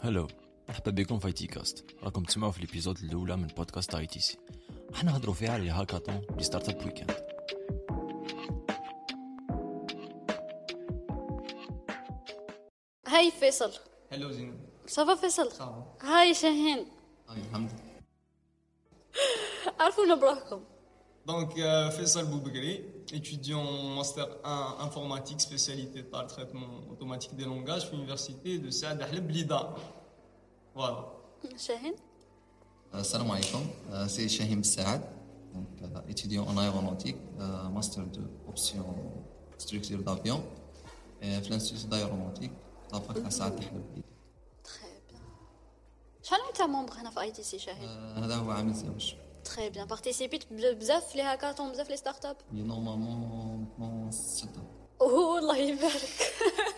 هلو، مرحبا بكم في اي تي كاست. راكم تسمعوا في الابيزود الاولى من بودكاست اي تي سي. راح نهضروا فيها على الهاكاثون دي ستارت اب ويكند. هاي فيصل. Hello Zine. صافا فيصل. Ça va. هاي شاهين. الحمد لله. عرفونا بروحكم. Donc Faisal Boubegri, étudiant en master 1 informatique spécialité par le traitement automatique des langages à l'université de Saad Ahleb Blida. Voilà. شاهين. Salam alaikum, c'est Shahim Saad, donc, étudiant en aéronautique, master de option structure d'avion, et l'Institut d'aéronautique, la fac à Saad Ahleb. Très bien. شحال انت ممبر هنا في اي تي سي شاهين؟ هذا هو عام الزواج. Très bien. Participé بزاف لي هاكاثون بزاف لي ستارت اب. Normalement 6 اوه الله يبارك.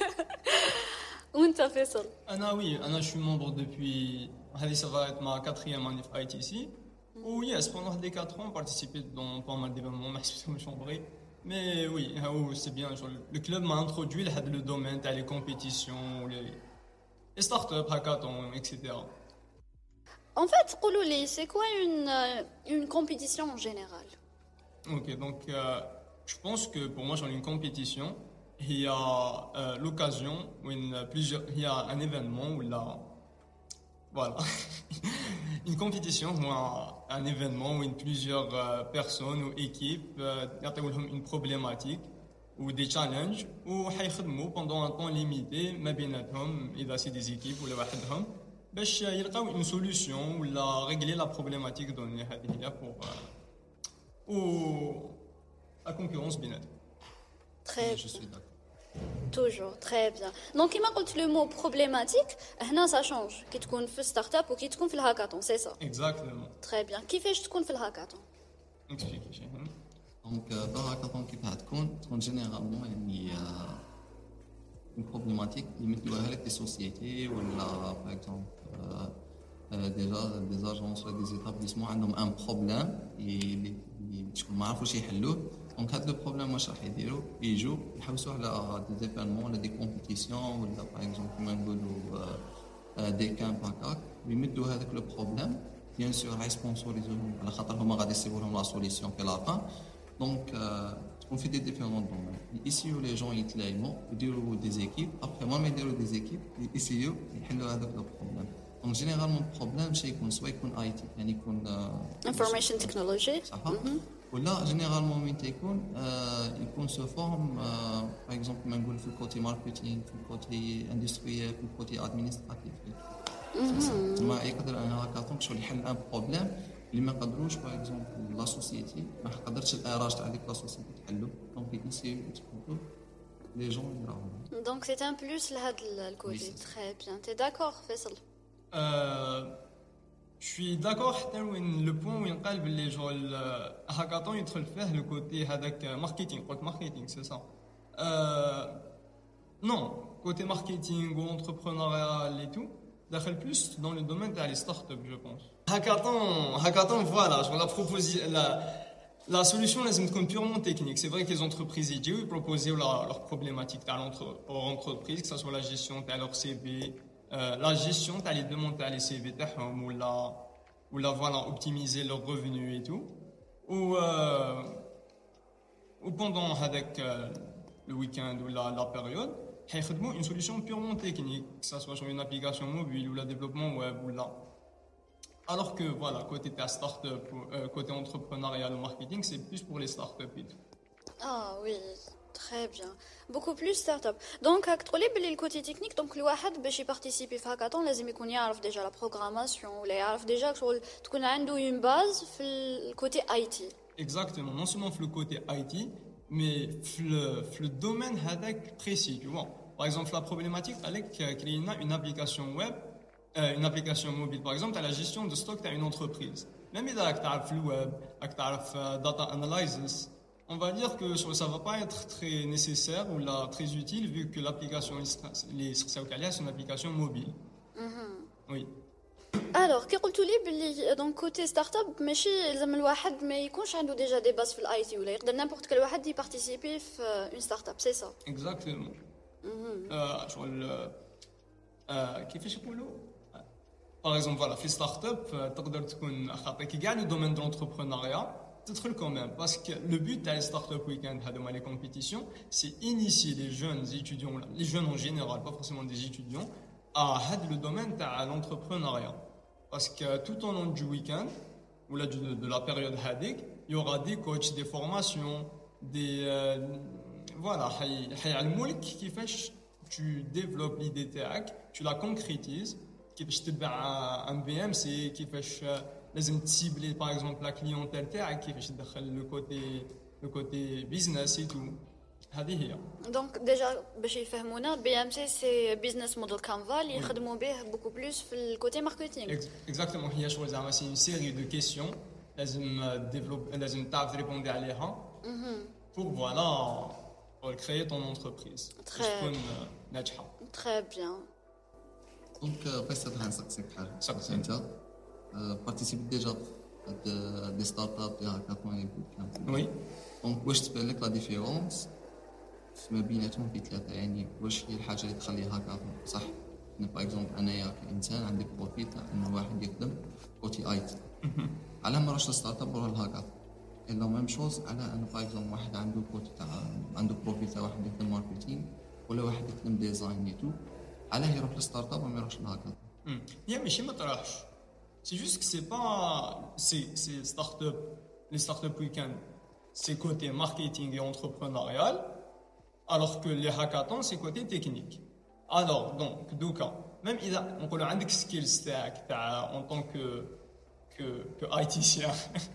وانت فيصل؟ Je suis membre depuis, ça va être ma 4e année à ITC. Où yes, pendant les 4 ans, on participé dans pas mal d'événements, maximum chambré. Mais oui, c'est bien. Genre, le club m'a introduit le domaine, les compétitions, les startups, hackathons, etc. En fait, قولوا لي c'est quoi une compétition en général? Ok, donc je pense que pour moi, genre une compétition, il y a l'occasion où il y a un événement où là, voilà, une compétition ou un événement où plusieurs personnes ou équipes ont une problématique ou des challenges où ils pendant un temps limité, ما بيناتهم إذا c'est des équipes ou لوحدهم باش يلقاو une solution ولا régler la problématique donnée هذه pour ou la concurrence بيناتهم. Très Je bien. suis d'accord. Toujours, très bien. Donc, كما قلت le mot problématique, هنا ça change. كي تكون في ستارت اب وكي تكون في الهاكاثون, c'est ça. Exactement. Très bien. كيفاش تكون في الهاكاثون؟ Expliquez chez nous. Donc هاكاثون كيف تكون généralement يعني une problématique اللي يمدوها لك des sociétés ولا par exemple déjà des agences ou des établissements عندهم un problème اللي شكون ما عرفوش يحلوه. دونك هذا لو بروبليم واش راح يديروا يجوا يحوسوا على دي زيفينمون ولا دي كومبيتيسيون ولا باغ اكزومبل كيما نقولوا دي كامب هكاك ويمدوا هذاك لو بروبليم بيان سور راح يسبونسوريزوهم على خاطر هما غادي يسيبوا لهم لا سوليسيون في لافان. دونك تكون في دي ديفيرون دومين يسيو لي جون يتلايموا يديروا دي زيكيب ابخي ما يديروا دي زيكيب يسيو يحلوا هذاك لو بروبليم. دونك جينيرالمون بروبليم شي يكون سوا يكون اي تي يعني يكون information technology. صح ولا جينيرالمون وين يكون سو فورم باغ اكزومبل ما نقول في الكوتي ماركتينغ في الكوتي اندستريال في الكوتي ادمينستراتيف ما يقدر انا هاكاثون شغل يحل ان بروبليم اللي ما قدروش باغ اكزومبل لا سوسيتي ما قدرتش الاراج تاع ديك لا سوسيتي تحلو دونك يسيو يتحطوا لي جون يراهم. Donc c'est un plus لهذا الكوتي. Très bien. T'es d'accord فيصل؟ Je suis d'accord حتى وين le point وين قال باللي جو الهاكاثون يدخل فيه le côté هذاك ماركتينغ قلت ماركتينغ سي سا non côté marketing ou entrepreneurial et tout داخل plus dans le domaine تاع les startups je pense. Hackathon voilà je la proposer la solution لازم تكون purement technique. C'est vrai que les entreprises ils proposer leur problématique à l'entreprise que ça soit la gestion de leur CV la gestion t'as les demandes t'as les CV تاعهم ولا voilà optimiser leurs revenus et tout ou pendant avec le week-end ou la période هيخدموا une solution purement technique que ça soit sur une application mobile ou le développement web ou là alors que voilà côté ta start-up côté entrepreneurial ou marketing c'est plus pour les start-up et tout. Ah oui. Très bien. Beaucoup plus start-up. Donc, à le côté technique, donc le واحد باش participer في hackathon لازم يكون يعرف déjà la programmation ولا يعرف déjà تكون عنده une base في le côté IT. Exactement. Non seulement le côté IT, mais le domaine هذاك précis, tu vois. Par exemple, la problématique avec créer une application web, une application mobile, par exemple, à la gestion de stock d'une entreprise. Même إذا تعرف le web, تعرف data analysis. On va dire que ça ne va pas être très nécessaire ou là, très utile vu que l'application c'est une application mobile. Oui. Alors, كي قلتوا لي باللي donc côté start-up ماشي لازم الواحد ما يكونش عنده déjà des bases في الاي تي ولا يقدر n'importe quel واحد يبارتيسيبي في une start-up, c'est ça. Exactement. شغل كيفاش يقولوا Par exemple, voilà, في ستارت اب تقدر تكون خاطر كي كاع لو دومين دو لونتربرونيا تدخل quand même parce que le but تاع ستارت اب ويكاند هذوما les compétitions c'est initier les jeunes étudiants les jeunes en général pas forcément des étudiants à هذا le domaine تاع l'entrepreneuriat parce que tout au long du week-end ou là de la période هذيك il y aura des coachs des formations des voilà حيعلمولك كيفاش tu développes l'idée تاعك tu la concrétises كيفاش تتبع ان بي ام سي كيفاش لازم تسيبلي باغ اكزومبل لا كليونتيل تاعك كيفاش تدخل لو كوتي بيزنس اي تو هذه هي دونك ديجا باش يفهمونا بي ام سي سي بيزنس موديل كانفا اللي يخدموا به بوكو بلوس في الكوتي ماركتينغ اكزاكتومون هي شغل زعما سي اون سيري دو كيسيون لازم ديفلوب لازم تعرف تريبوندي عليها pour voilà pour créer ton entreprise تكون ناجحه تري بيان دونك بس هاد غنسقسيك حاجه سقسي. انت بارتيسيبي ديجا دي ستارت اب دي هاكاثون وي دونك واش تبان لك لا ديفيرونس ما بيناتهم في ثلاثه يعني واش هي الحاجه اللي تخلي هاكاثون صح انا باغ اكزومبل انايا كانسان عندي بروفيت انه واحد يخدم كوتي اي تي على ما راش ستارت اب ولا الهاكاثون الا ميم شوز على ان باغ اكزومبل واحد عنده كوتي تاع عنده بروفيت تاع واحد يخدم ماركتينغ ولا واحد يخدم ديزاين اي تو علاه يروح للستارت اب وما يروحش للهاكاثون هي ماشي ما طرحش سي جوست كو سي با سي ستارت اب لي ستارت اب ويكاند سي كوتي ماركتينغ اي انتربرونيال alors que les hackathons c'est côté technique alors donc دوكا même اذا نقولوا عندك سكيلز تاع en tant que ITicien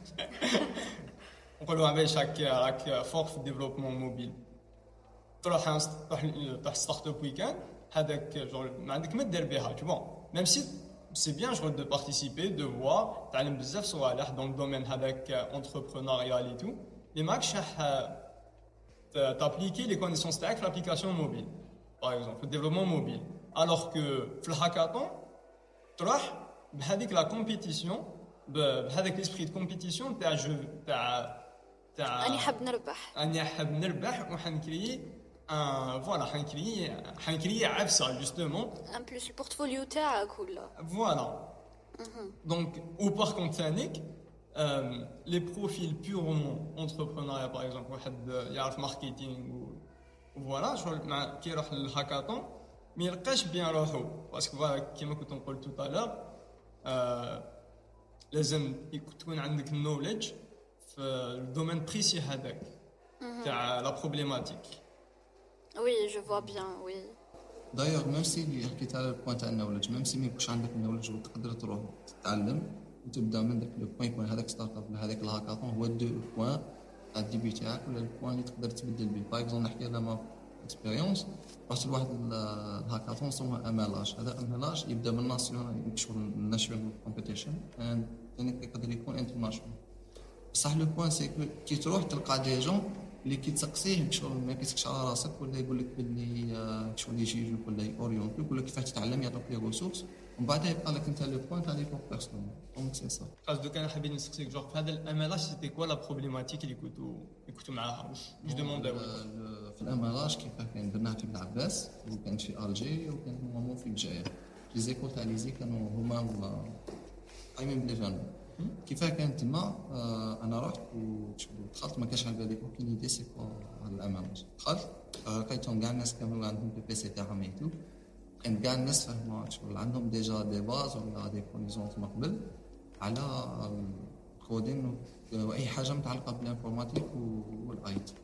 نقولوا باش راك فوق في الديفلوبمون موبيل تروح ستارت اب ويكاند هذاك جور ما عندك ما دير بها tu vois même si c'est bien genre de participer de voir تعلم بزاف صوالح dans le domaine هذاك entrepreneurial et tout mais ماكش t'appliquer les connaissances تاعك في l'application mobile par exemple le développement mobile alors que في الهاكاثون تروح بهذيك لا كومبيتيسيون بهذاك ليسبري دو كومبيتيسيون تاع جو تاع اني حاب نربح وحنكري فوالا حنكري عفسه جوستومون ان بلوس البورتفوليو تاعك ولا فوالا دونك او بار كونت ثانيك لي بروفيل بيورمون انتربرونيا باغ اكزومبل واحد يعرف ماركتينغ فوالا شغل مع كي يروح للهاكاثون ما يلقاش بيان روحو باسكو فوالا كيما كنت نقول توتالور لازم تكون عندك النوليدج في الدومين بريسي هذاك تاع لا بروبليماتيك وي جو فوا بيان وي دايوغ ميم سي اللي حكيت على البوان تاع النولج ميم سي ما يكونش عندك النولج وتقدر تروح تتعلم وتبدا من داك لو بوين يكون هذاك ستارت اب هذاك الهاكاثون هو دو بوين تاع الديبي تاعك ولا البوين اللي تقدر تبدل به باغ اكزومبل نحكي على ما اكسبيريونس رحت لواحد الهاكاثون سموه املاج هذا املاج يبدا من ناسيونال شغل ناشيونال كومبيتيشن ثاني يقدر يكون انترناشونال بصح لو بوين سي كي تروح تلقى دي جون اللي كيتسقسيه شغل ما كيسكش على راسك ولا يقول لك باللي شغل يجي يجيك ولا يورينتيك يقول لك كيفاش تتعلم يعطيك لي ريسورس ومن بعد يبقى لك انت لو بوين تاع لي بور بيرسونيل دونك سي سا قصدك انا حابين نسقسيك جوغ في هذا الاملاج سيتي كوا لا بروبليماتيك اللي كنتو معاها واش دومونداو في الاملاج كيفاه كاين درناها في بن عباس وكانت في الجي وكانت نورمالمون في الجزائر لي زيكول تاع لي زي كانوا هما قايمين بلي جانب كيفاه كانت تما انا رحت ودخلت ما كانش على بالي اوكين ايدي سي كوا هذا الاملاج دخلت لقيتهم كاع الناس كانوا عندهم بي سي تاعهم ايتو كان كاع الناس فاهمه شغل عندهم ديجا دي باز ولا دي كونيزونس من قبل على الكودين واي حاجه متعلقه بالانفورماتيك والاي تي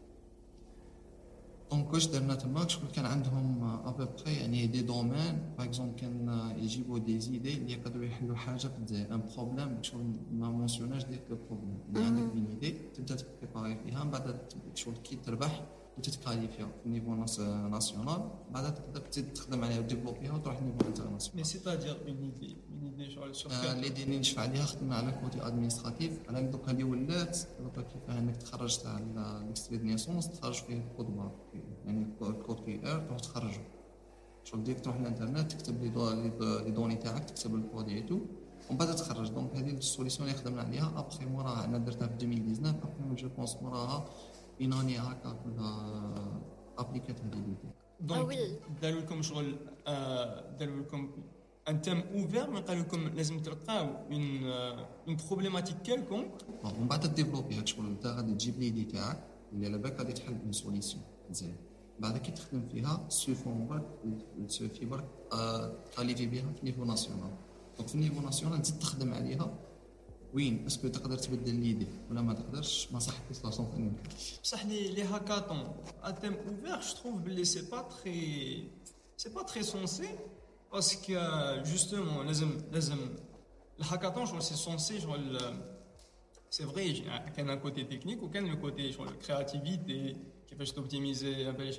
دونك واش درنا تما شغل كان عندهم ابوبري يعني دي دومين باغ اكزومبل كان يجيبوا دي زيدي اللي يقدروا يحلوا حاجه في الجزائر ان بروبليم شغل ما مونسيوناش ديك لو بروبليم اللي عندك اون ايدي تبدا تبريباري فيها من بعد شغل كي تربح وتتكاليفيا في النيفو ناسيونال بعد تقدر تزيد تخدم عليها وديفلوبيها وتروح للنيفو انترناسيونال مي سيتادير اون ايدي شغل سور اللي ديني نشفع عليها خدمنا على كوتي ادمينستراتيف على دوكا اللي ولات دوكا كيفاه انك تخرج تاع ليكستري دو نيسونس تخرج فيه الكود بار يعني الكود كي ار تروح تخرجه شغل ديك تروح للانترنت تكتب لي دوني تاعك تكتب الكود ايتو ومن بعد تخرج دونك هذه السوليسيون اللي خدمنا عليها ابخي موراها انا درتها في 2019 ابخي جو بونس موراها بيناني هكا كلها ابليكات هذه ليدي دونك داروا لكم شغل داروا لكم un thème ouvert mais قال لكم لازم تلقاو une problématique quelconque. ومن بعد تديفلوبي هاد الشغل انت غادي تجيب ليدي تاعك اللي على بالك غادي تحل اون سوليسيون مزيان بعد كي تخدم فيها سوفون برك سوفي برك كاليفي بها في نيفو ناسيونال دونك في نيفو ناسيونال تزيد تخدم عليها وين اسكو تقدر تبدل ليدي ولا ما تقدرش ما صحتش لا سونطينيك بصح les hackathons à thème ouvert je trouve que c'est pas très sensé parce que justement لازم الهاكاثون genre c'est censé genre c'est vrai qu'il y a un côté technique ou qu'il y a le côté genre créativité qui fait optimiser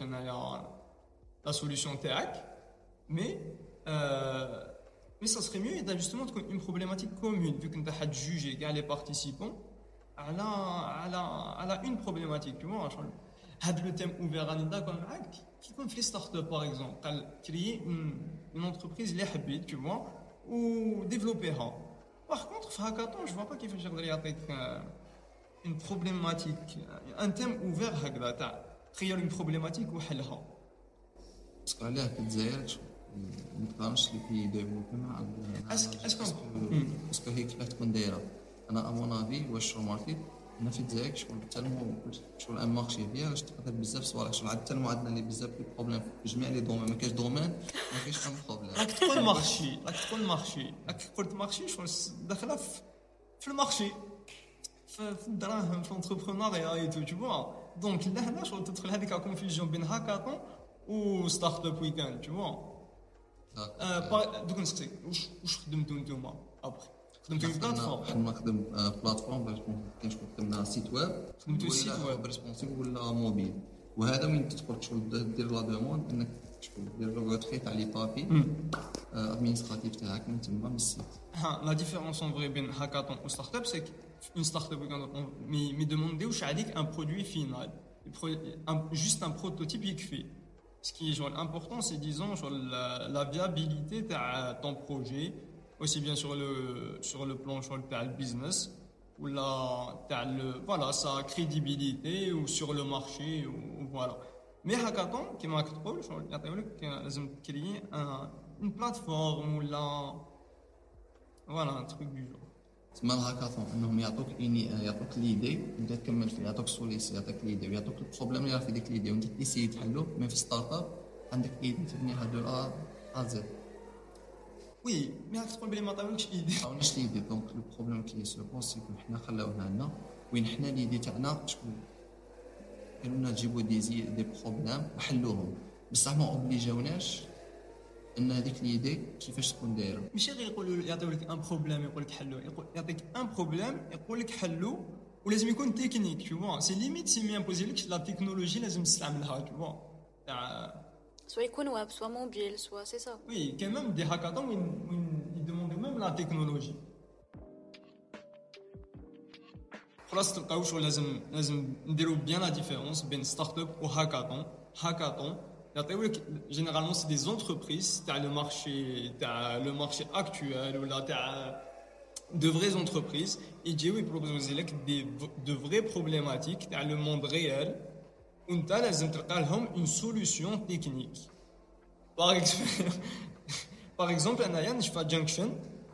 la solution TAC mais ça serait mieux d'avoir justement une problématique commune vu que tu as jugé les participants à la une problématique tu vois le thème ouvert à d'accord qui comme les startups par exemple créer une entreprise les habits tu vois ou développer par contre hackathon je vois pas qu'il faut avec une problématique un thème ouvert هكذا créer une problématique وحلها parce que علاه كتزاير ما تقارنش لي بي ديفلوبي مع اسكو هي كيفاش تكون دايره انا امون افي واش ماركت هنا في الجزائر شغل ان مارشي فيها باش تقدر بزاف صوالح شغل حتى المعادله اللي بزاف في بروبليم في جميع لي دومين ما كاينش دومين ما كاينش ان بروبليم راك تقول مارشي راك قلت مارشي شغل داخله في المارشي في الدراهم في الانتربرونيا اي تو فوا دونك لهنا شغل تدخل هذيك كونفيوجن بين هاكاثون و ستارت اب ويكاند تو فوا دوك نسقسيك واش خدمتوا نتوما ابخي خدمتوا في بلاتفورم حنا نخدم بلاتفورم باش كاين شكون خدمنا سيت ويب خدمتوا سيت ويب ريسبونسيبل ولا موبيل وهذا وين تدخل شغل دير لا دوموند انك شغل دير لو روتري تاع لي بابي ادمينستراتيف تاعك من تما من السيت لا ديفيرونس اون فري بين هاكاثون و ستارت اب سي une start-up me demander où j'ai un produit final juste un prototype qui fait ce qui est genre important c'est disons genre la viabilité de ton projet aussi bien sur le plan sur le business ou voilà sa crédibilité ou sur le marché ou voilà mais hackathon qui m'a dit genre لازم créer une plateforme ou voilà un truc du genre تسمى الهاكاثون انهم يعطوك ليدي وانت تكمل فيه يعطوك سوليسي يعطوك ليدي ويعطوك البروبليم اللي راه في ديك ليدي وانت تيسي تحلو مي في ستارت اب عندك ليدي تبنيها دو ا زد وي مي هاك تقول بلي ما طاولكش ايدي ماونيش ليدي دونك لو بروبليم كي سو بونس يكون حنا خلاوها لنا وين حنا ليدي تاعنا شكون قالوا لنا جيبوا دي بروبليم وحلوهم بصح ما اوبليجاوناش ان هذيك ليدي كيفاش تكون دايره ماشي غير يقولوا يعطيو لك ان بروبليم يقول لك حلو يعطيك ان بروبليم يقول لك حلو ولازم يكون تكنيك تو فوا سي ليميت سي مي امبوزي لك لا تكنولوجي لازم تستعملها تو فوا تاع سوا يكون ويب سوا موبيل سوا سي سا وي كان ميم دي هاكاثون وين يدوموندو ميم لا تكنولوجي خلاص تلقاو شغل لازم نديرو بيان لا ديفيرونس بين ستارت اب و هاكاثون généralement c'est des entreprises t'as le marché actuel ou là t'as de vraies entreprises et ils proposent de vraies problématiques t'as le monde réel où t'as لازم تلقى لهم une solution technique par exemple أنا نشوف Junction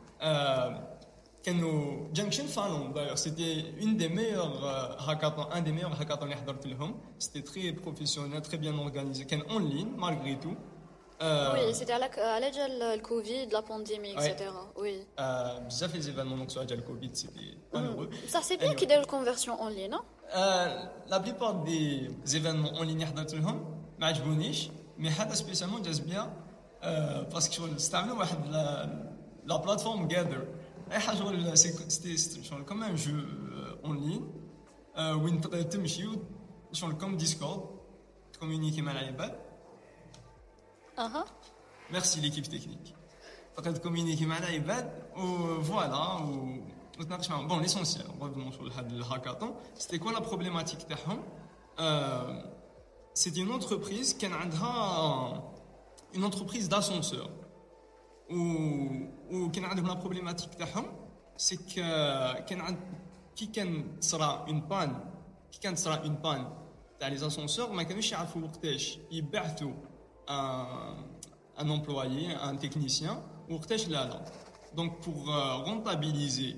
كانوا Junction Finland d'ailleurs c'était un des meilleurs hackathons اللي حضرت لهم c'était très professionnel très bien organisé كان en ligne malgré tout oui c'était على جال الكوفيد la pandémie etc oui بزاف les événements donc sur جال الكوفيد c'était malheureux ça c'est bien qu'ils donnent conversion en ligne non la plupart des événements en ligne حضرت لهم ما عجبونيش mais هذا spécialement جاز bien parce que استعملوا واحد la plateforme Gather اي حاجه سيتي شغل كوم ان جو اون لين وين تقدر تمشي شغل كوم ديسكورد تكومونيكي مع العباد ميرسي ليكيب تكنيك تقدر تكومونيكي مع العباد وفوالا وتناقش معهم بون ليسونسيال ريفونون شغل هذا الهاكاثون سيتي كوا لا بروبليماتيك تاعهم سيتي اون انتربريز كان عندها اون انتربريز داسونسور وكان عندهم لا بروبليماتيك تاعهم سي كان تصرا اون بان تاع لي زاسونسور ما كانوش يعرفوا وقتاش يبعثوا ان امبلويي ان تكنيسيان وقتاش لا. Donc pour rentabiliser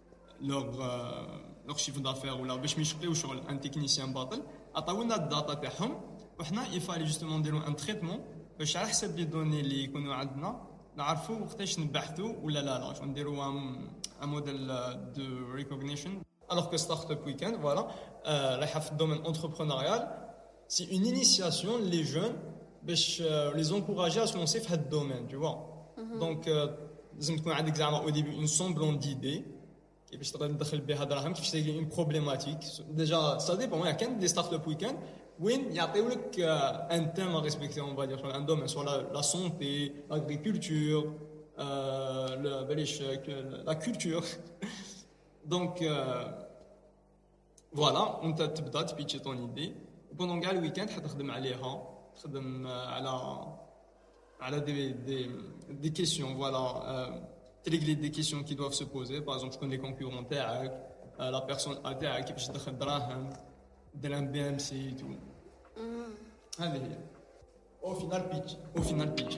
leur chiffre d'affaires ولا باش ما يشقيو شغل ان تكنيسيان باطل عطاونا الداتا تاعهم وحنا يفالي جوستومون نديرو ان تريتمون باش على حسب لي دوني اللي يكونوا عندنا نعرفوا وقتاش نبحثوا ولا لا شو نديروا ان موديل دو ريكوغنيشن. alors que Startup Weekend voilà رايحه في الدومين انتربرونيال c'est une initiation les jeunes باش les encourager à se lancer في هذا الدومين tu vois. donc لازم تكون عندك زعما au début une semblance d'idée كيفاش تقدر تدخل بها دراهم كيفاش تلقى اون بروبليماتيك ديجا سا ديبون كان دي ستارت اب ويكاند وين يعطيو لك ان تيم ريسبكتي اون فادير سو ان دومين سو لا سونتي لاغريكولتور بلاش لا كولتور دونك فوالا وانت تبدا تبيتشي طون ايدي بوندون كاع الويكاند حتخدم عليها تخدم على des questions voilà régler des questions qui doivent se poser par exemple je connais les concurrents تاعك la personne تاعك كيفاش تدخل دراهم دير ان بي ام سي تو هذه هي au final pitch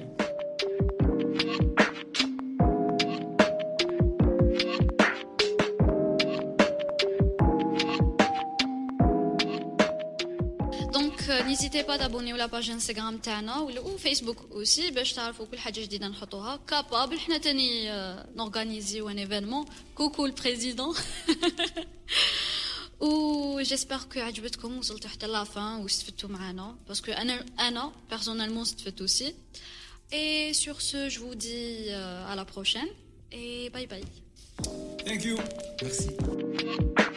n'hésitez pas d'abonner à la page Instagram تاعنا ou Facebook aussi باش تعرفوا كل حاجه جديده نحطوها كابابل حنا تاني نورغانيزيو ان ايفينمون كوكو البريزيدون و جيسبر كو عجبتكم وصلتوا حتى لافان واستفدتوا معنا باسكو انا بيرسونيلمون استفدت aussi et sur ce je vous dis à la prochaine et bye bye. Thank you. Merci.